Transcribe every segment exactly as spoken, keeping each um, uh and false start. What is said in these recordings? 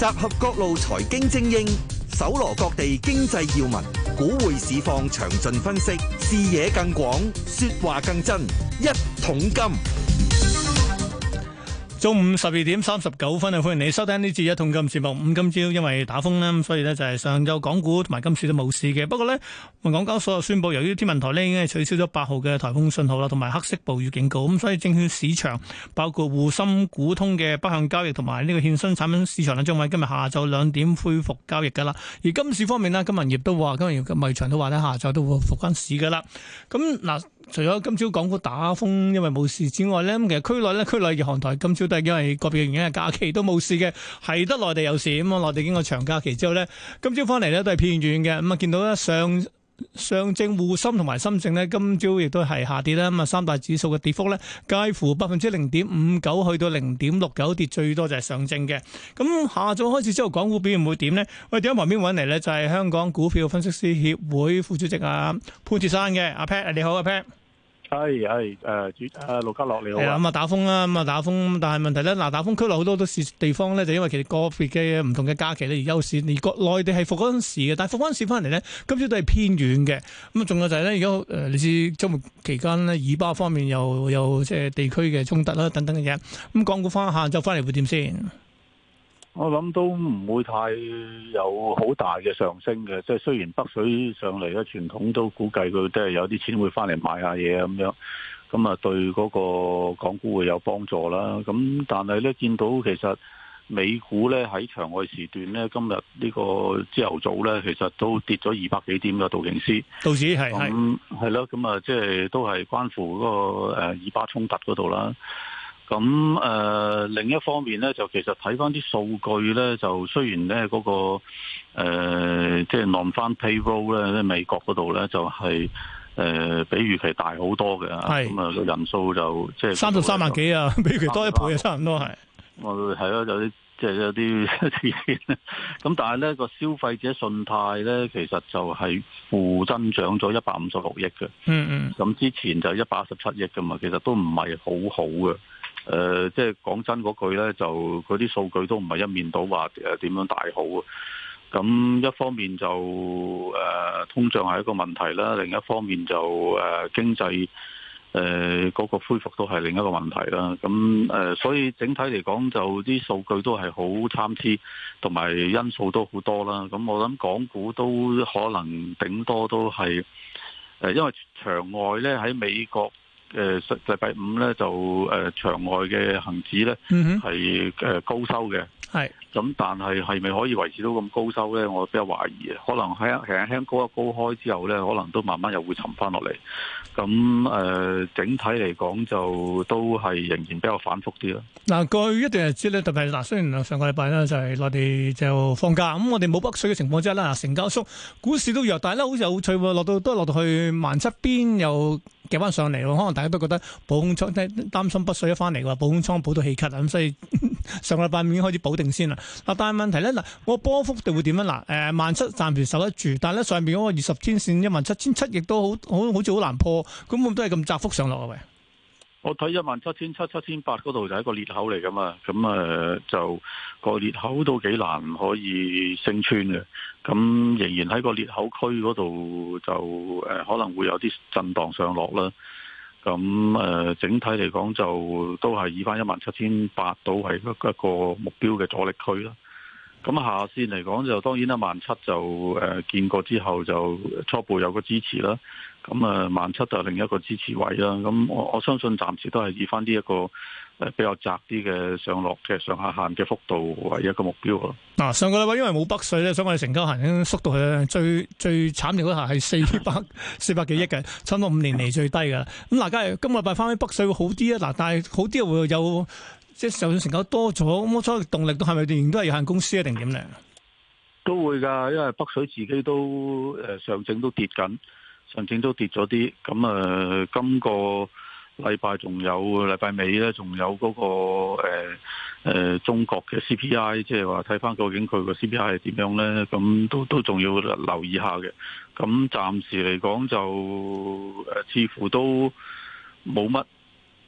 合各路財經精英，搜羅各地經濟要聞，股匯市況詳盡分析，視野更廣，說話更真。一桶金， 中午十二點三十九分啊！歡迎你收聽呢節一桶金節目。咁今朝因為打風啦，咁所以呢就係上晝港股同埋今次都冇事嘅。不過呢，港交所又宣布，由於天文台呢已經係取消咗八號嘅颱風信號啦，同埋黑色暴雨警告，咁所以證券市場包括滬深股通嘅北向交易同埋呢個衍生產品市場呢，將喺今日下晝兩點恢復交易噶啦。而金市方面呢，金銀業都話，金銀業嘅賣場都話呢，下晝都會復翻市噶啦。咁嗱。除咗今朝港股打風因為冇事之外咧，咁其實區內咧，區內日韓台今朝都係因為個別原因嘅假期都冇事嘅，係得內地有事。咁啊，內地經過長假期之後咧，今朝翻嚟咧都係偏軟嘅。咁啊，見到咧上上證、滬深同埋深證咧，今朝亦都係下跌啦。咁啊，三大指數嘅跌幅咧，介乎百分之零點五九去到零點六九，跌最多就係上證嘅。咁下晝開始之後，港股表現會點呢？喂，點喺旁邊揾嚟咧？就係香港股票分析師協會副主席啊潘鐵珊嘅阿 Pat，你好阿 Pat。 係係誒主誒陸家樂你好啊。 咁啊打風啦，咁啊打風，但係問題咧，嗱打風區內好多都市地方咧，就因為其實個別嘅唔同嘅假期咧而休市，而國內地係復嗰陣時嘅，但係復嗰陣時翻嚟咧，今朝都係偏軟嘅。咁啊，仲有就係咧，而家誒你知週末期間咧，以巴方面又有即係地區嘅衝突啦等等嘅嘢。咁港股翻下晝翻嚟會點先？ 我諗都唔會太有好大嘅上升嘅，即係雖然北水上嚟咧，傳統都估計佢都係有啲錢會翻嚟買下嘢咁樣，咁啊對嗰個港股會有幫助啦。咁但係咧見到其實美股咧喺場外時段咧，今日呢個朝頭早咧，其實都跌咗二百幾點嘅道瓊斯， 道指係係係咯，咁啊即係都係關乎嗰個誒以巴衝突嗰度啦。咁誒、呃、另一方面咧，就其實睇翻啲數據咧，就雖然咧嗰、那個誒、呃、即係 non-farm payroll 咧，喺美國嗰度咧就係、是、誒、呃、比預期大好多嘅，咁啊個人數就即係三十三萬幾啊，比預期多一倍啊，差唔多係。 我係咯，有啲即係有啲咁，但係咧個消費者信貸咧，其實就係負增長咗一百五十六億嘅。 嗯嗯。咁之前就一百一十七億㗎嘛，其實都唔係好好嘅。誒、呃，即係講真嗰句咧，就嗰啲數據都唔係一面倒話誒點樣大好啊。咁一方面就誒、呃、通脹係一個問題啦，另一方面就誒、呃、經濟誒嗰、呃那個恢復都係另一個問題啦。咁誒、呃，所以整體嚟講，就啲數據都係好參差，同埋因素都好多啦。咁我諗港股都可能頂多都係誒、呃，因為場外咧喺美國。誒禮拜五咧就誒、呃、場外嘅恒指咧係誒高收嘅，係咁，但係係咪可以維持到咁高收咧？我比較懷疑，可能喺輕輕高一高開之後咧，可能都慢慢又會沉翻落嚟。咁誒、呃、整體嚟講就都係仍然比較反覆啲啦。嗱， 過去一段日子咧，特別係嗱，雖然上個禮拜咧就係內地就放假，咁我哋冇北水嘅情況之下啦，成交縮，股市都弱，但係咧好似有趣喎，落到都落到去萬七邊又夾翻上嚟喎，可能大家都覺得補空倉擔心北水一翻嚟嘅話，補空倉補到氣咳啊，咁所以上個禮拜已經開始補定先啦。嗱，但係問題咧，嗱，我波幅度會點樣？嗱，誒萬七暫時守得住，但係咧上邊嗰個二十天線一萬七千七亦都好好好似好難破，咁我都係咁窄幅上落啊喂。 我睇一萬七千七、七千八嗰度就係一個裂口嚟噶嘛，咁誒、呃、就個裂口都幾難可以升穿嘅，咁仍然喺個裂口區嗰度就誒、呃、可能會有啲震盪上落啦。咁誒、呃、整體嚟講就都係以翻一萬七千八到係一個目標嘅阻力區啦。咁下線嚟講就當然啦，萬七就誒、呃、見過之後就初步有個支持啦。咁啊，萬七就係另一個支持位啦。咁我我相信暫時都係以翻呢一個誒比較窄啲嘅上落嘅上下限嘅幅度為一個目標咯。嗱、 啊，上個禮拜因為冇北水咧，所以我哋成交行已經縮到去最最慘烈嗰下係四百四百幾億嘅，差唔多五年嚟最低㗎。咁嗱，假如今個禮拜翻去北水會好啲啊？嗱，但係好啲又會有即係就算成交多咗，咁我所謂動力都係咪仍然都係有限公司一定點咧？ 都會㗎，因為北水自己都誒上證都跌緊。上證都跌咗啲，咁誒、呃，今個禮拜仲有禮拜尾咧，仲有嗰、那個誒、呃呃、中國嘅 C P I，即係話睇翻究竟佢個 C P I 係點樣咧？咁都都仲要留意下嘅。咁暫時嚟講就誒、呃，似乎都冇乜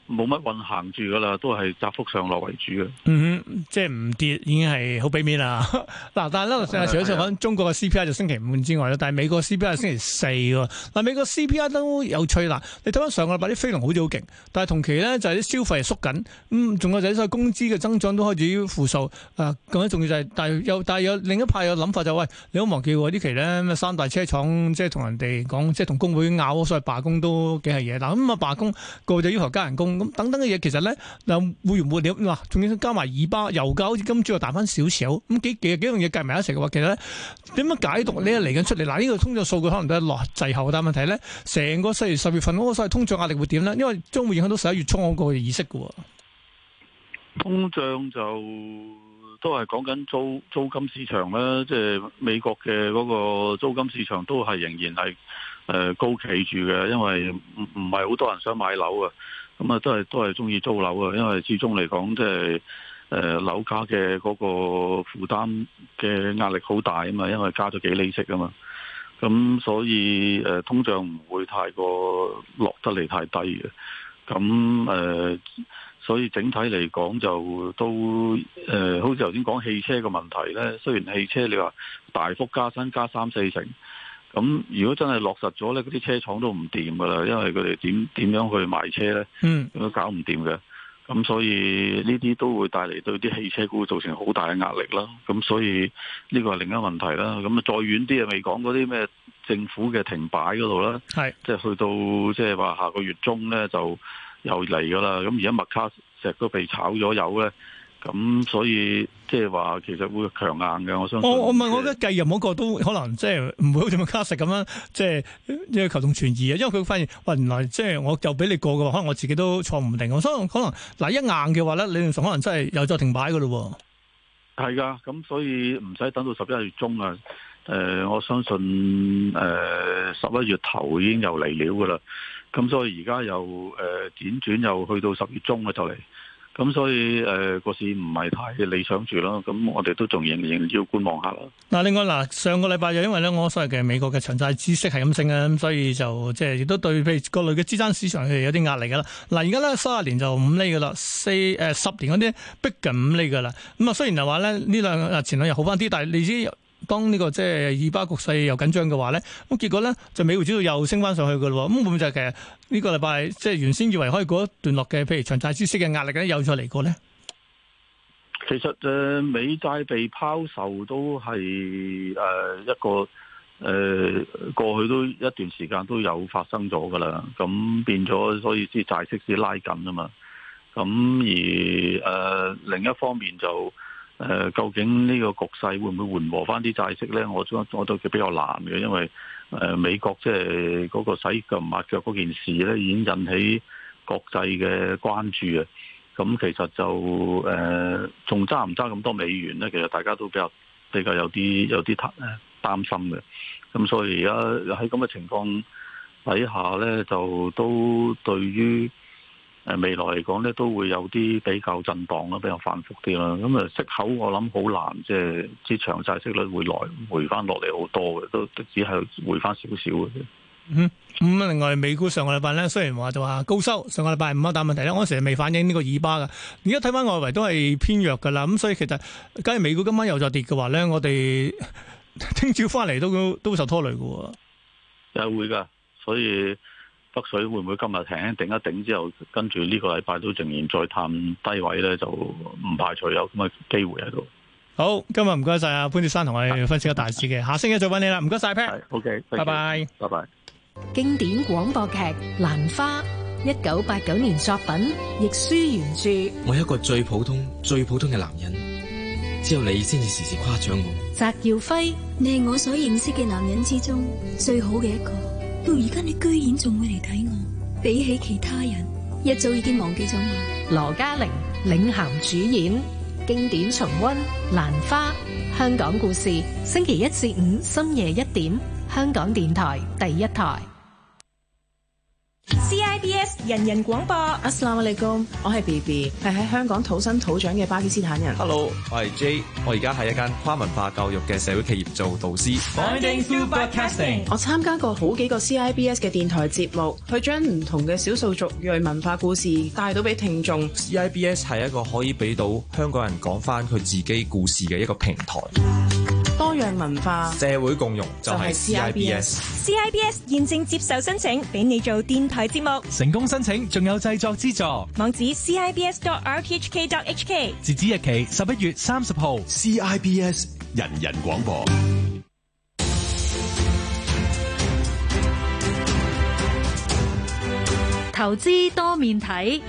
冇乜運行住噶啦，都係窄幅上落為主嘅。 嗯哼，即係唔跌已經係好俾面啦。嗱，但係咧，除咗講中國嘅 C P I 就星期五之外咧，但係美國 C P I 係星期四喎。嗱，美國 C P I 都有趣啦。你睇翻上個禮拜啲非農好似好勁，但係同期咧就係啲消費係縮緊。咁仲有就係所謂工資嘅增長都開始負數。啊，更加重要就係，但係有但係有另一派有諗法就係，喂，你好忘記喎呢期咧咩三大車廠即係同人哋講，即係同工會拗，所謂罷工都幾係嘢。嗱咁啊罷工個就要求加人工。咁等等嘅嘢，其實咧又會唔會點？嗱，仲要加埋以巴油價，好似今朝又彈翻少少，咁幾幾幾樣嘢計埋一齊嘅話，其實咧點樣解讀呢？嚟緊出嚟，嗱，呢個通脹數據可能都係落滯後，但係問題咧，成個四月十月份嗰個所謂通脹壓力會點咧？因為將會影響到十一月初嗰個議息嘅。 通脹就都係講緊租租金市場啦，即係美國嘅嗰個租金市場都係仍然係誒高企住嘅，因為唔唔係好多人想買樓啊。咁啊，都係都係中意租樓啊，因為始終嚟講，即係誒樓價嘅嗰個負擔嘅壓力好大啊嘛，因為加咗幾厘息啊嘛，咁所以誒、呃、通脹唔會太過落得嚟太低嘅，咁誒、呃，所以整體嚟講就都誒、呃，好似頭先講汽車嘅問題咧，雖然汽車你話大幅加薪加三四成。咁如果真係落實咗呢，嗰啲車廠都唔掂噶啦，因為佢哋點點樣去賣車呢？嗯，都搞唔掂嘅。咁所以呢啲都會帶嚟對啲汽車股造成好大嘅壓力啦。咁所以呢個係另一個問題啦。咁啊再遠啲啊，未講嗰啲咩政府嘅停擺嗰度啦，係即係去到即係話下個月中呢，就又嚟噶啦。咁而家麥卡錫都被炒咗魷呢。咁所以即係話其實會強硬嘅，我相信。我我問我覺得繼任嗰個都可能即係唔會好似麥卡錫咁樣，即係因為求同存異啊。因為佢發現喂，原來即係我就俾你過嘅話，可能我自己都錯唔定。我所以可能嗱一硬嘅話咧，理論上可能真係又再停擺噶咯。係噶，咁所以唔使等到十一月中啊。誒、呃，我相信誒十一月頭已經又嚟了噶啦。咁所以而家又誒輾轉又去到十月中啊，就嚟。咁所以誒個、呃、市唔係太理想住啦，咁我哋都仲仍然要觀望下啦。嗱，另外嗱，上個禮拜就因為咧，我所謂嘅美國嘅長債孳息係咁升啊，咁所以就即係亦都對譬如各類嘅資產市場係有啲壓力噶啦。嗱，而家咧三十年就五厘噶啦，四誒、呃、十年嗰啲逼近五厘噶啦。咁啊，雖然係話咧呢兩日前兩日好翻啲，但係你知。當呢個即係以巴局勢又緊張嘅話咧，咁結果咧就美匯指數又升翻上去嘅咯。咁會唔會就係其實呢個禮拜即係原先以為可以過一段落嘅，譬如長債孳息嘅壓力咧，又再嚟過咧？其實誒美債被拋售都係誒一個誒、呃、過去都一段時間都有發生咗噶啦。咁變咗，所以啲債息先拉緊啊嘛。咁而誒、呃、另一方面就。誒、呃，究竟呢個局勢會唔會緩和翻啲債息呢？我我我都比較難嘅，因為誒、呃、美國即係嗰個洗腳抹腳嗰件事呢，已經引起國際嘅關注啊。咁其實就誒，仲揸唔揸咁多美元呢？其實大家都比較比較有啲有啲擔擔心嘅。咁所以而家喺咁嘅情況底下呢，就都對於。誒未來嚟講咧，都會有啲比較震盪啦，比較反覆啲啦。咁啊，息口我諗好難，即係啲長債息率會來回翻落嚟好多嘅，都只係回翻少少嘅啫。嗯，咁啊，另外美股上個禮拜咧，雖然話就話高收，上個禮拜五啊，但問題咧，我成日未反映呢個以巴㗎。而家睇翻外圍都係偏弱㗎啦。咁所以其實，假如美股今晚又再跌嘅話咧，我哋聽朝翻嚟都都會受拖累嘅喎。又會㗎，所以。北水會唔會今日停一頂一頂之後，跟住呢個禮拜都仍然再探低位咧，就唔排除有咁嘅機會喺度。好，今日唔該晒阿潘鐵珊同我哋分析個大市嘅，下星期再揾你啦。唔該晒 Pat。OK，拜拜，拜拜。 經典廣播劇《蘭花》，一九八九年作品，亦舒原著。 我係一個最普通、最普通嘅男人，只有你先至時時誇獎我。 翟耀輝， 你係我所認識嘅男人之中最好嘅一個。到而家你居然仲會嚟睇我，比起其他人，一早已經忘記咗我。 羅嘉玲領銜主演，經典重溫《蘭花》，香港故事，星期一至五深夜一點，香港電台第一台。 C I B S 人人廣播。 Assalamualaikum，我係 B B， 係喺香港土生土長嘅巴基斯坦人。 Hello， 我係 J， 我而家喺一間跨文化教育嘅社會企業做導師。 Finding Through Broadcasting， 我參加過好幾個 C I B S 嘅電台節目，去將唔同嘅少數族裔文化故事帶到俾聽眾。 C I B S 係一個可以俾到香港人講翻佢自己故事嘅一個平台。 多樣文化， 社會共融就係 C I B S。 C I B S 現正接受申請，俾你做電台節目。 成功申請仲有製作資助。 網址 c i b s dot r t h k dot h k。 截止日期十一月三十號。 C I B S 人人廣播。 投資多面睇。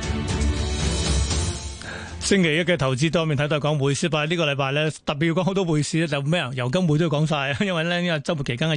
星期一嘅投資多面睇都係講匯市，但係呢個禮拜咧特別要講好多匯市咧，就咩啊？油金匯都要講晒，因為咧呢個週末期間嘅